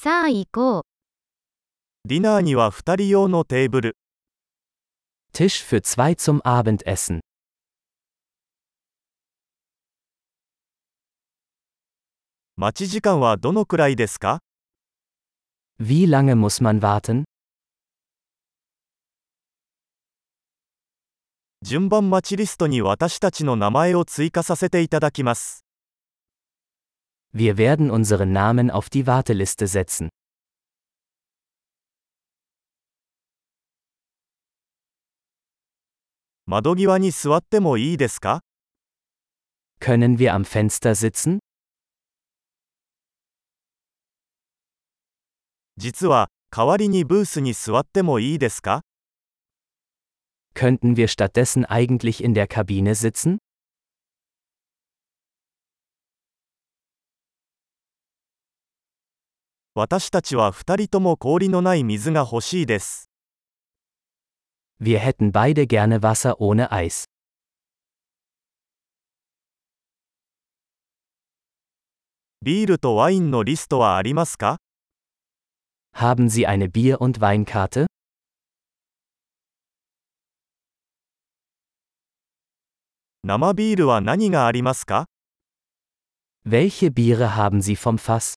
さあ行こう。 ディナーには2人用のテーブル。 Tisch für zwei zum Abendessen. 待ち時間はどのくらいですか？ Wie lange muss man warten? 順番待ちリストに私たちの名前を追加させていただきます。 Wir werden unseren Namen auf die Warteliste setzen. 窓際に座ってもいいですか？ Können wir am Fenster sitzen? 実は、代わりにブースに座ってもいいですか？ Könnten wir stattdessen eigentlich in der Kabine sitzen? 私たちは2人とも氷のない水が欲しいです。 Wir hätten beide gerne Wasser ohne Eis. ビールとワインのリストはありますか？ Haben Sie eine Bier- und Weinkarte? 生ビールは何がありますか？ Welche Biere haben Sie vom Fass?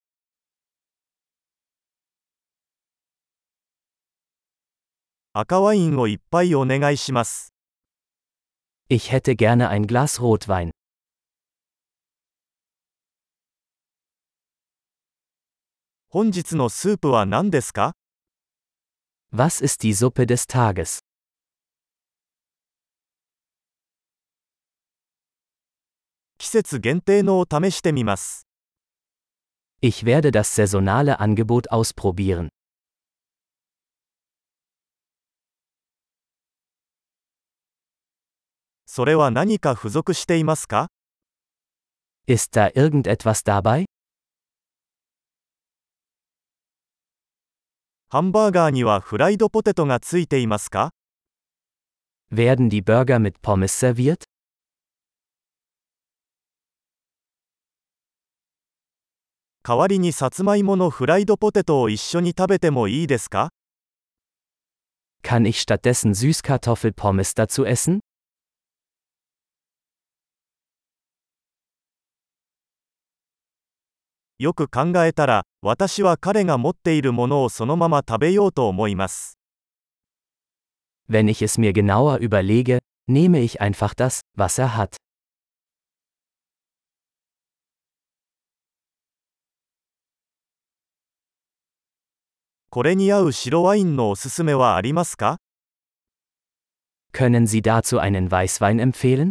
赤ワインを一杯お願いします。 Ich hätte gerne ein Glas Rotwein. 本日のスープは何ですか？ Was ist die Suppe des Tages? 季節限定のを試してみます。 Ich werde das saisonale Angebot ausprobieren. それは何か付属していますか？ Ist da irgendetwas dabei? ハンバーガーにはフライドポテトがついていますか？ Werden die Burger mit Pommes serviert? 代わりにさつまいものフライドポテトを一緒に食べてもいいですか？ Kann ich stattdessen Süßkartoffelpommes dazu essen? よく考えたら、私は彼が持っているものをそのまま食べようと思います。 Wenn ich es mir genauer überlege, nehme ich einfach das, was er hat. これに合う白ワインのおすすめはありますか？ Können Sie dazu einen Weißwein empfehlen?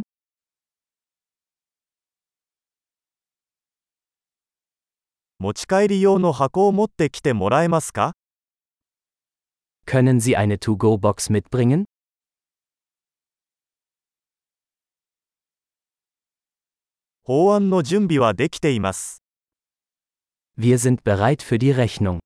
持ち帰り用の箱を持ってきてもらえますか？ Können Sie eine To-Go-Box mitbringen? 法案の準備はできています。 Wir sind bereit für die Rechnung.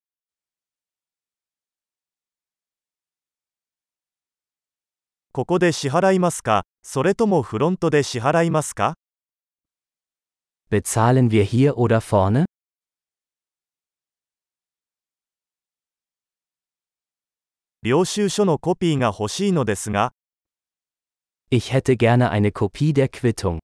ここで支払いますか、それともフロントで支払いますか？ Bezahlen wir hier oder vorne? 領収書のコピーが欲しいのですが、 Ich hätte gerne eine Kopie der Quittung.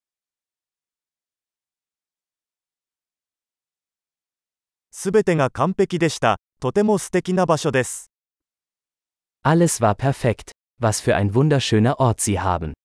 すべてが完璧でした。とても素敵な場所です。 Alles war perfekt. Was für ein wunderschöner Ort Sie haben.